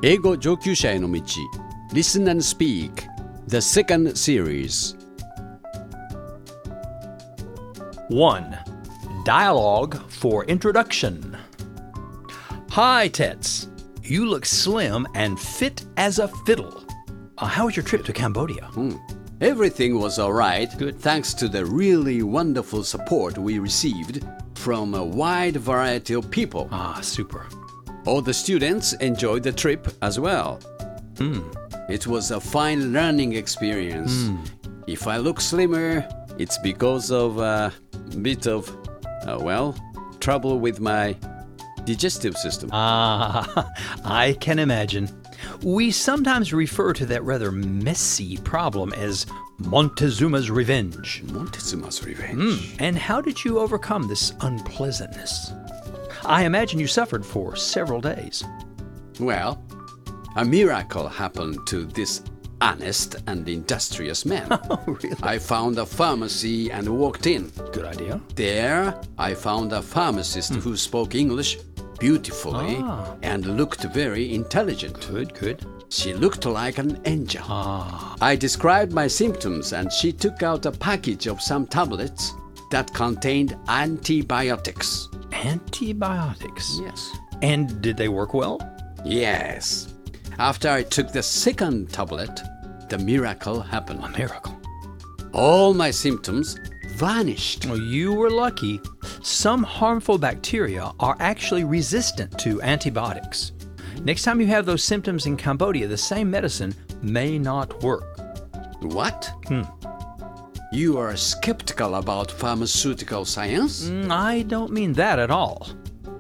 英語上級者への道 Listen and Speak The second series 1. Dialogue for introduction. Hi, Tets. You look slim and fit as a fiddle. How was your trip to Cambodia? Everything was alright Good. thanks to the really wonderful support we received from a wide variety of people. Super. All the students enjoyed the trip as well. It was a fine learning experience. If I look slimmer, it's because of a bit of, trouble with my digestive system. I can imagine. We sometimes refer to that rather messy problem as Montezuma's revenge. Montezuma's revenge. And how did you overcome this unpleasantness? I imagine you suffered for several days. Well, a miracle happened to this honest and industrious man. Oh, really? I found a pharmacy and walked in. Good idea. There, I found a pharmacist who spoke English beautifully and looked very intelligent. Good. She looked like an angel. I described my symptoms and she took out a package of some tablets that contained antibiotics. Antibiotics? Yes. And did they work well? Yes. After I took the second tablet, the miracle happened. A miracle. All my symptoms vanished. Well, you were lucky. Some harmful bacteria are actually resistant to antibiotics. Next time you have those symptoms in Cambodia, the same medicine may not work. What? You are skeptical about pharmaceutical science? I don't mean that at all.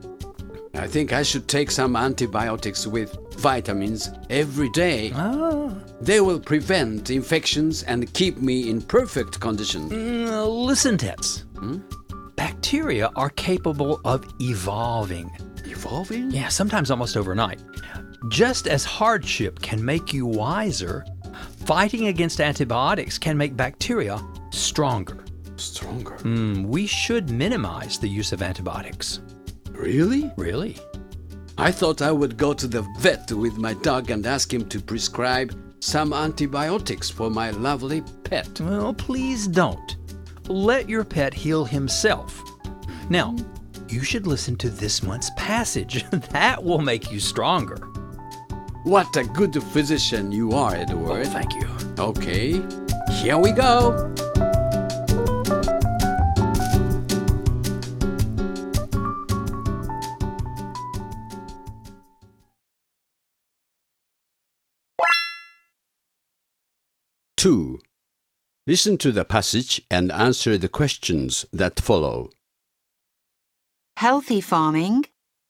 I think I should take some antibiotics with vitamins every day. They will prevent infections and keep me in perfect condition. Listen, Tets. Bacteria are capable of evolving. Evolving? Yeah, sometimes almost overnight. Just as hardship can make you wiser, fighting against antibiotics can make bacteria stronger. Stronger? We should minimize the use of antibiotics. Really? Really? I thought I would go to the vet with my dog and ask him to prescribe some antibiotics for my lovely pet. Well, please don't. Let your pet heal himself. Now, you should listen to this month's passage. That will make you stronger. What a good physician you are, Edward. Oh, thank you. Okay, here we go. Two. Listen to the passage and answer the questions that follow. Healthy farming.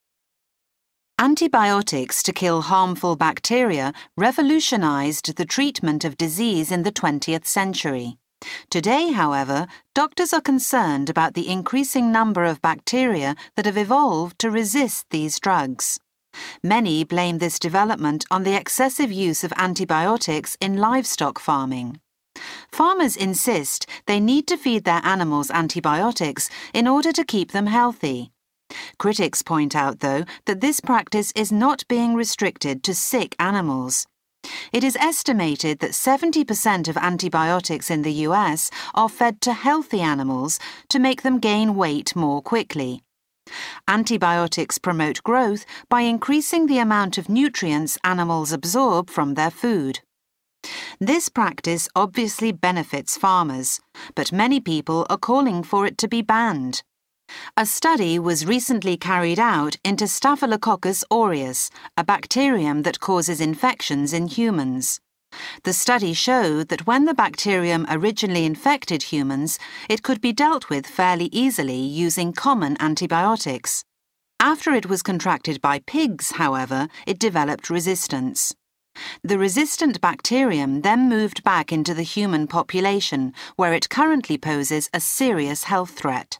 Antibiotics to kill harmful bacteria revolutionized the treatment of disease in the 20th century. Today, however, doctors are concerned about the increasing number of bacteria that have evolved to resist these drugs. Many blame this development on the excessive use of antibiotics in livestock farming. Farmers insist they need to feed their animals antibiotics in order to keep them healthy. Critics point out, though, that this practice is not being restricted to sick animals. It is estimated that 70% of antibiotics in the US are fed to healthy animals to make them gain weight more quickly. Antibiotics promote growth by increasing the amount of nutrients animals absorb from their food. This practice obviously benefits farmers, but many people are calling for it to be banned. A study was recently carried out into Staphylococcus aureus, a bacterium that causes infections in humans. The study showed that when the bacterium originally infected humans, it could be dealt with fairly easily using common antibiotics. After it was contracted by pigs, however, it developed resistance. The resistant bacterium then moved back into the human population, where it currently poses a serious health threat.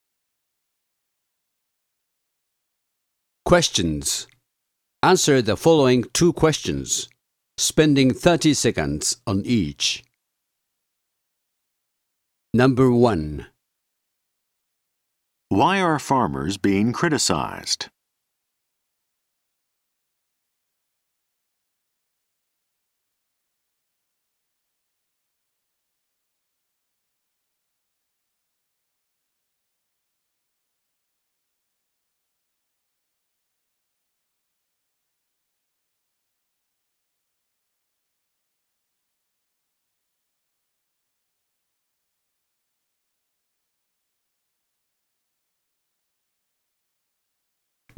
Questions. Answer the following two questions, spending 30 seconds on each. Number 1. Why are farmers being criticized?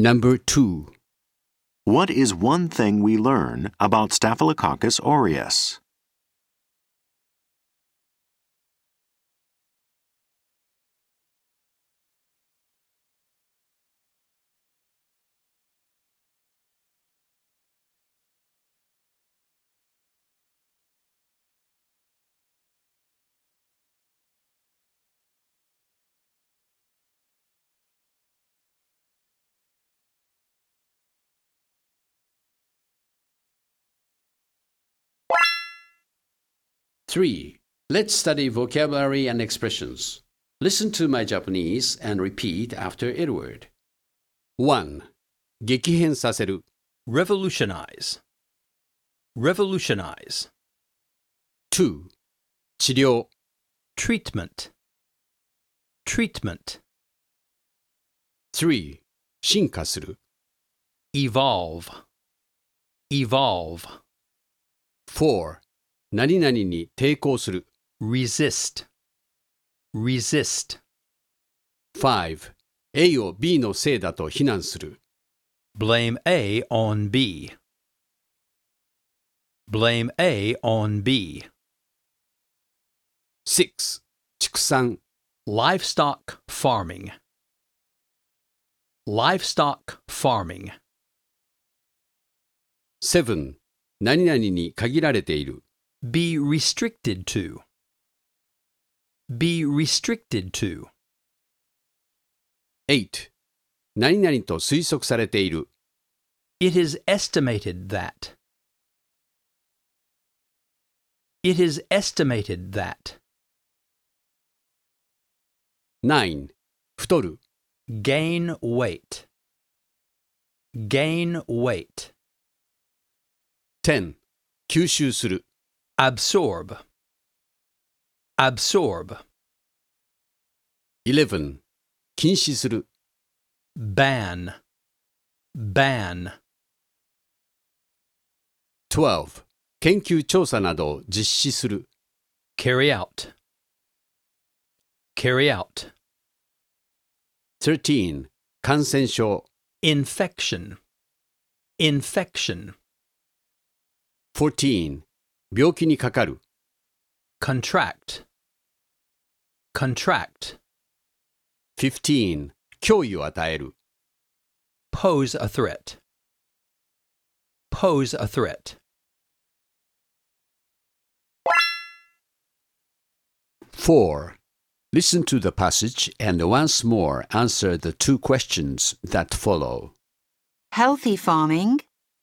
Number 2. What is one thing we learn about Staphylococcus aureus? Three. Let's study vocabulary and expressions. Listen to my Japanese and repeat after Edward. 1. 激変させる revolutionize, revolutionize, 2. 治療 treatment, treatment, 3. 進化する evolve, evolve, 4. 何々に抵抗する resist, resist, 5. A を B のせいだと非難する blame A on B, blame A on B, 6. 畜産 livestock farming, livestock farming, 7. 何々に限られている be restricted to, be restricted to, 8. 何々と推測されている it is estimated that, it is estimated that, 9. 太る gain weight, gain weight, 10. 吸収する absorb, absorb, 11. 禁止する ban, ban, 12. 研究調査などを実施する carry out, carry out, 13. 感染症 infection, infection, 14. 病気にかかる contract, contract, 15. 脅威を与える pose a threat, pose a threat, 4. Listen to the passage and once more answer the two questions that follow. Healthy farming.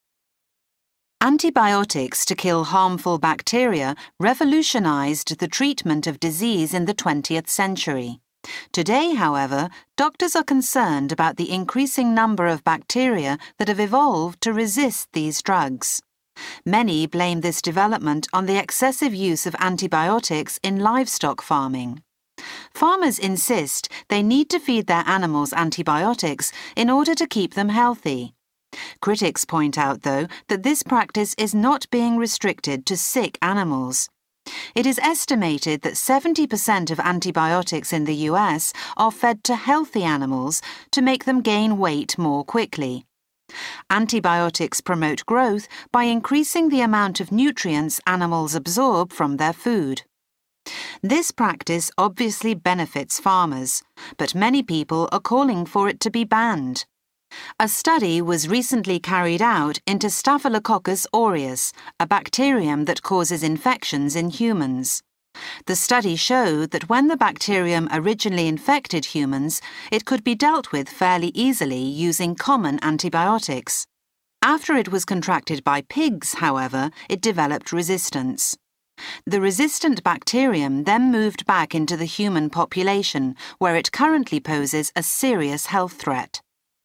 Antibiotics to kill harmful bacteria revolutionized the treatment of disease in the 20th century. Today, however, doctors are concerned about the increasing number of bacteria that have evolved to resist these drugs. Many blame this development on the excessive use of antibiotics in livestock farming. Farmers insist they need to feed their animals antibiotics in order to keep them healthy. Critics point out, though, that this practice is not being restricted to sick animals. It is estimated that 70% of antibiotics in the US are fed to healthy animals to make them gain weight more quickly. Antibiotics promote growth by increasing the amount of nutrients animals absorb from their food. This practice obviously benefits farmers, but many people are calling for it to be banned. A study was recently carried out into Staphylococcus aureus, a bacterium that causes infections in humans. The study showed that when the bacterium originally infected humans, it could be dealt with fairly easily using common antibiotics. After it was contracted by pigs, however, it developed resistance. The resistant bacterium then moved back into the human population, where it currently poses a serious health threat.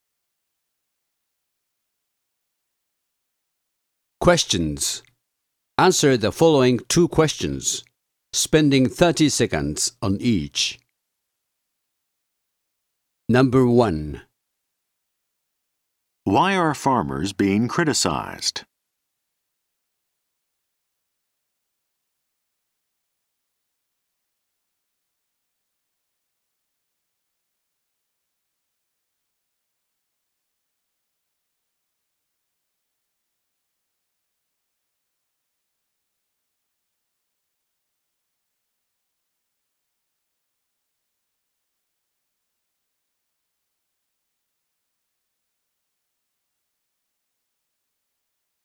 Questions. Answer the following two questions, spending 30 seconds on each. Number 1. Why are farmers being criticized?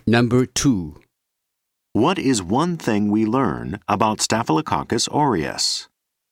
Number 2. What is one thing we learn about Staphylococcus aureus?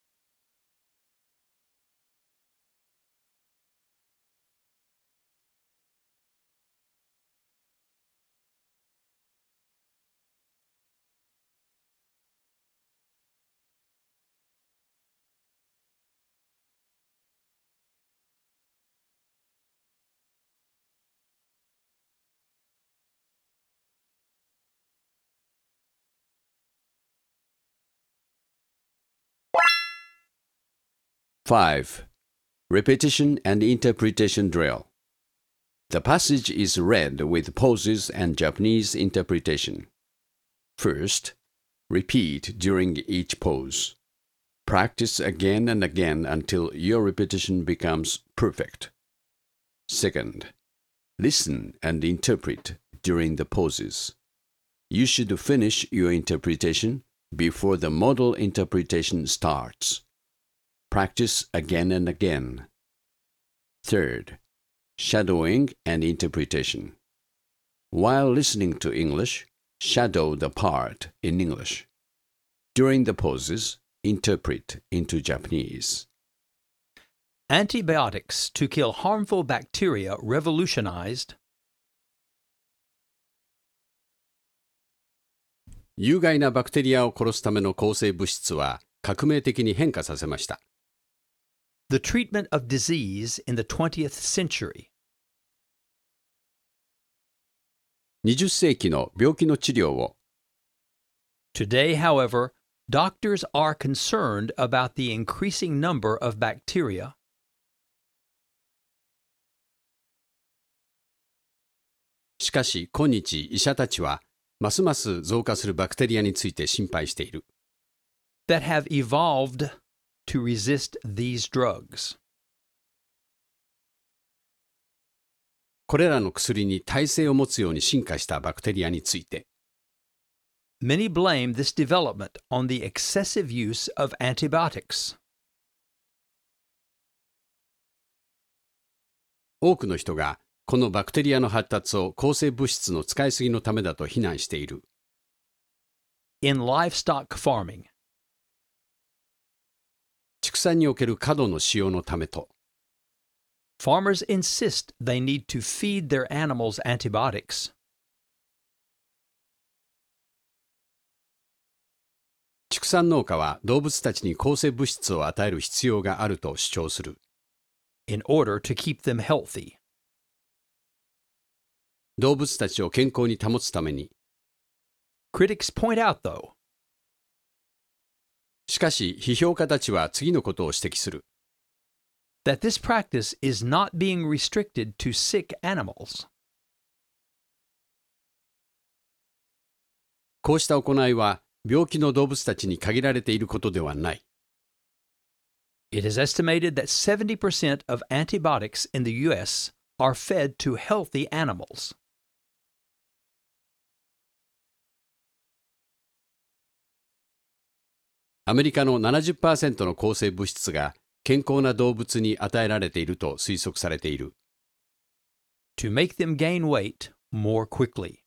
Five. Repetition and interpretation drill. The passage is read with pauses and Japanese interpretation. First, repeat during each pause. Practice again and again until your repetition becomes perfect. Second, listen and interpret during the pauses. You should finish your interpretation before the model interpretation starts. Practice again and again. Third, shadowing and interpretation. While listening to English, shadow the part in English. During the pauses, interpret into Japanese. Antibiotics to kill harmful bacteria revolutionized. 有害なバクテリアを殺すための抗生物質は革命的に変化させました。 The treatment of disease in the 20th century. 20世紀の病気の治療を Today, however, doctors are concerned about the increasing number of bacteria. しかし今日医者たちはますます増加するバクテリアについて心配している。 That have evolved to resist these drugs. これらの薬に耐性を持つように進化したバクテリアについて Many blame this development on the excessive use of antibiotics. 多くの人がこのバクテリアの発達を抗生物質の使いすぎのためだと非難している。 In livestock farming, 畜産における過度の使用のためと farmers insist they need to feed their animals antibiotics. 畜産農家は動物たちに抗生物質を与える必要があると主張する。 In order to keep them healthy. 動物たちを健康に保つために。 Critics point out, though, しかし、批評家たちは次のことを指摘する。 that this practice is not being restricted to sick animals. こうした行いは、病気の動物たちに限られていることではない。 It is estimated that 70% of antibiotics in the U.S. are fed to healthy animals. アメリカの 70% の抗生物質が健康な動物に与えられていると推測されている。 To make them gain weight more quickly.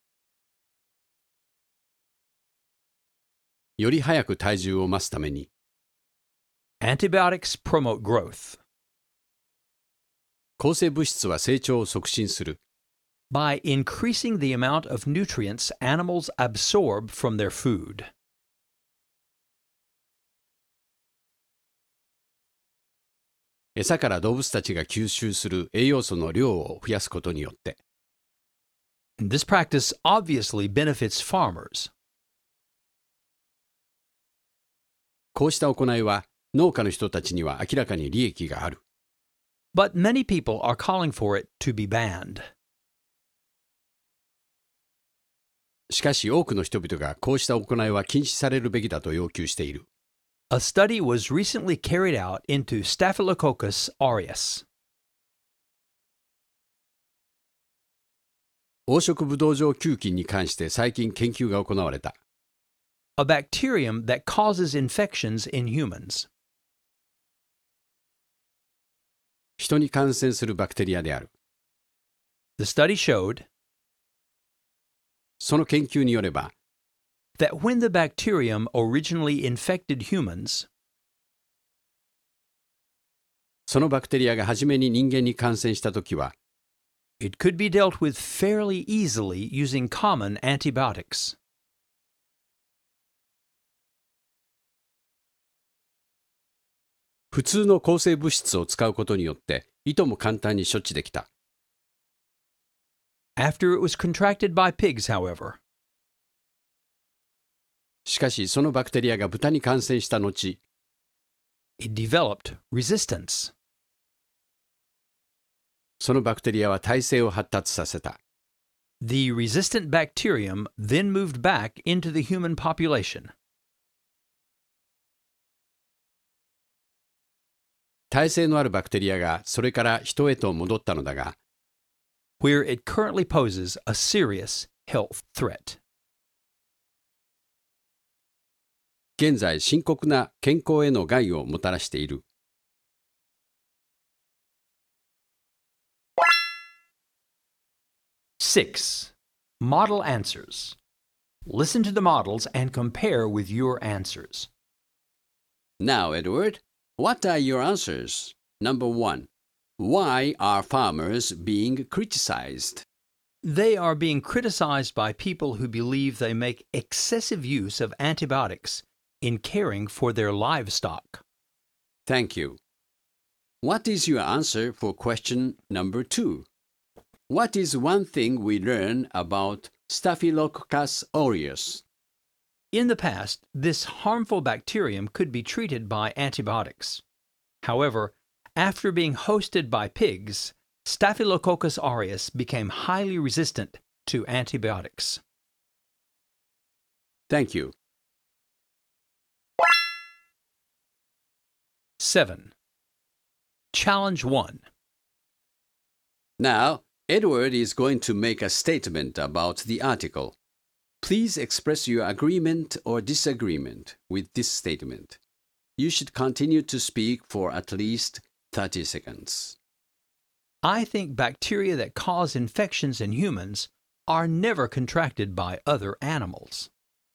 より早く体重を増すために。 Antibiotics promote growth. 抗生物質は成長を促進する。 By increasing the amount of nutrients animals absorb from their food. 餌から動物たちが吸収する栄養素の量を増やすことによって。 This practice obviously benefits farmers. こうした行いは農家の人たちには明らかに利益がある。 But many people are calling for it to be banned. しかし多くの人々がこうした行いは禁止されるべきだと要求している。 A study was recently carried out into Staphylococcus aureus. 黄色ブドウ状球菌に関して最近研究が行われた。 A bacterium that causes infections in humans. 人に感染するバクテリアである。 The study showed その研究によれば、 that when the bacterium originally infected humans, そのバクテリアが初めに人間に感染したときは、 it could be dealt with fairly easily using common antibiotics. 普通の抗生物質を使うことによって、いとも簡単に処置できた。 After it was contracted by pigs, however, しかし、そのバクテリアが豚に感染した後、 it developed resistance. そのバクテリアは耐性を発達させた。 The resistant bacterium then moved back into the human population. 耐性のあるバクテリアがそれから人へと戻ったのだが、 where it currently poses a serious health threat. 現在深刻な健康への害をもたらしている。 6. Model answers. Listen to the models and compare with your answers. Now, Edward, what are your answers? Number 1. Why are farmers being criticized? They are being criticized by people who believe they make excessive use of antibiotics in caring for their livestock. Thank you. What is your answer for question number 2? What is one thing we learn about Staphylococcus aureus? In the past, this harmful bacterium could be treated by antibiotics. However, after being hosted by pigs, Staphylococcus aureus became highly resistant to antibiotics. Thank you. 7. Challenge 1. Now, Edward is going to make a statement about the article. Please express your agreement or disagreement with this statement. You should continue to speak for at least 30 seconds. I think bacteria that cause infections in humans are never contracted by other animals.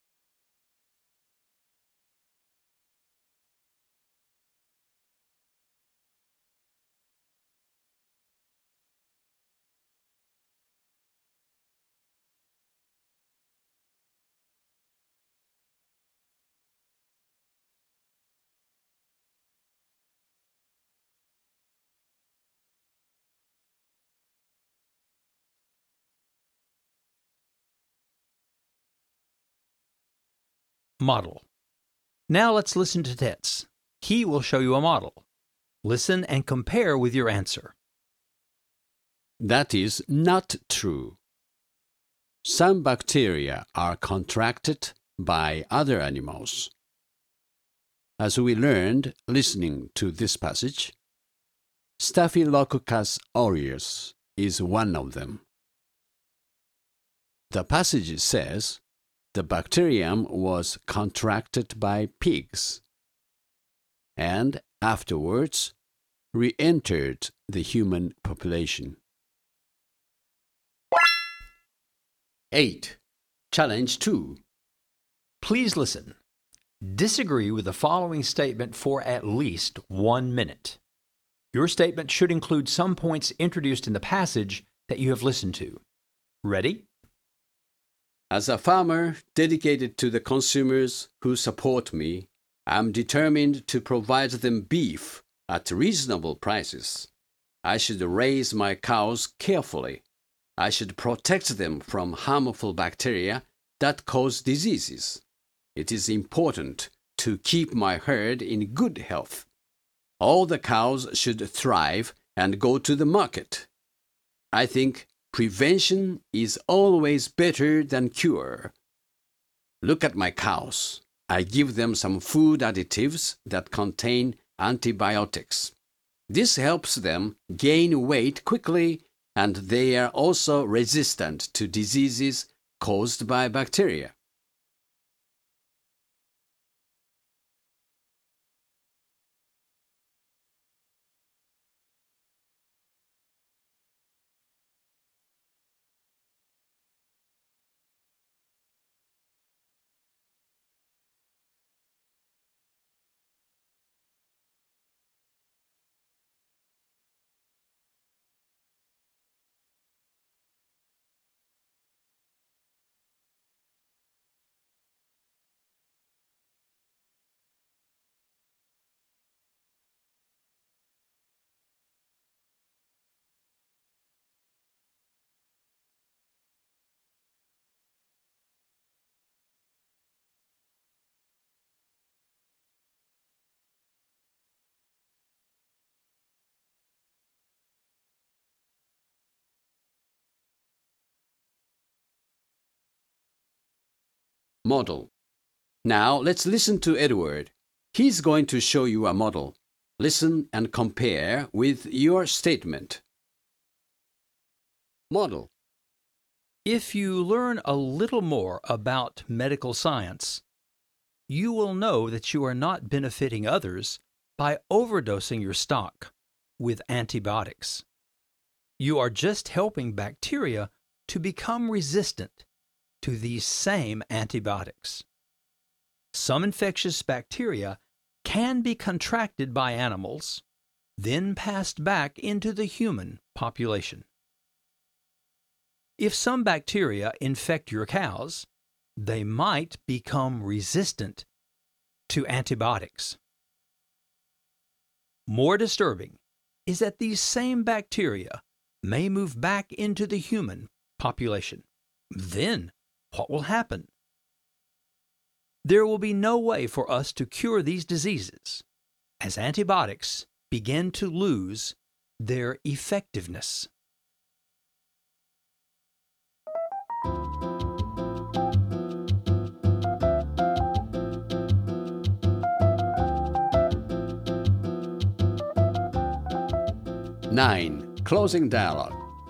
Model. Now let's listen to Tets. He will show you a model. Listen and compare with your answer. That is not true. Some bacteria are contracted by other animals. As we learned listening to this passage, Staphylococcus aureus is one of them. The passage says the bacterium was contracted by pigs and afterwards re-entered the human population. 8. Challenge 2. Please listen. Disagree with the following statement for at least 1 minute. Your statement should include some points introduced in the passage that you have listened to. Ready? As a farmer dedicated to the consumers who support me, I'm determined to provide them beef at reasonable prices. I should raise my cows carefully. I should protect them from harmful bacteria that cause diseases. It is important to keep my herd in good health. All the cows should thrive and go to the market. I think prevention is always better than cure. Look at my cows. I give them some food additives that contain antibiotics. This helps them gain weight quickly, and they are also resistant to diseases caused by bacteria. Model. Now let's listen to Edward. He's going to show you a model. Listen and compare with your statement. Model. If you learn a little more about medical science, you will know that you are not benefiting others by overdosing your stock with antibiotics. You are just helping bacteria to become resistant to these same antibiotics. Some infectious bacteria can be contracted by animals, then passed back into the human population. If some bacteria infect your cows, they might become resistant to antibiotics. More disturbing is that these same bacteria may move back into the human population. Then, what will happen? There will be no way for us to cure these diseases as antibiotics begin to lose their effectiveness. Nine. Closing dialogue.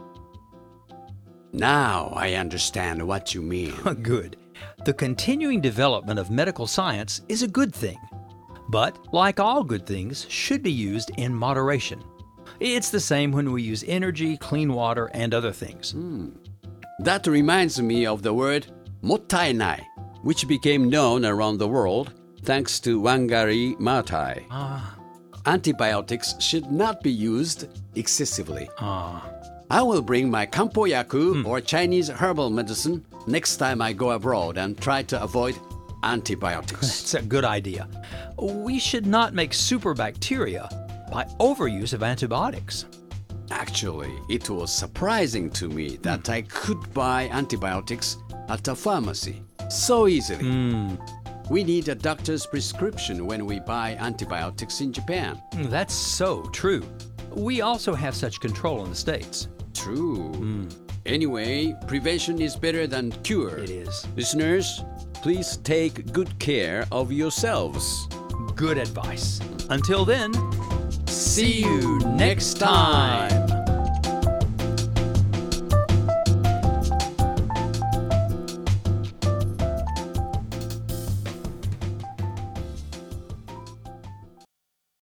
Now I understand what you mean. Good. The continuing development of medical science is a good thing, but like all good things, should be used in moderation. It's the same when we use energy, clean water, and other things. That reminds me of the word mottainai, which became known around the world thanks to Wangari Maathai. Antibiotics should not be used excessively. I will bring my kampoyaku or Chinese herbal medicine next time I go abroad and try to avoid antibiotics. That's a good idea. We should not make super bacteria by overuse of antibiotics. Actually, it was surprising to me that I could buy antibiotics at a pharmacy so easily. We need a doctor's prescription when we buy antibiotics in Japan. That's so true. We also have such control in the States. True. Anyway, prevention is better than cure. It is. Listeners, please take good care of yourselves. Good advice. Until then, See you next time.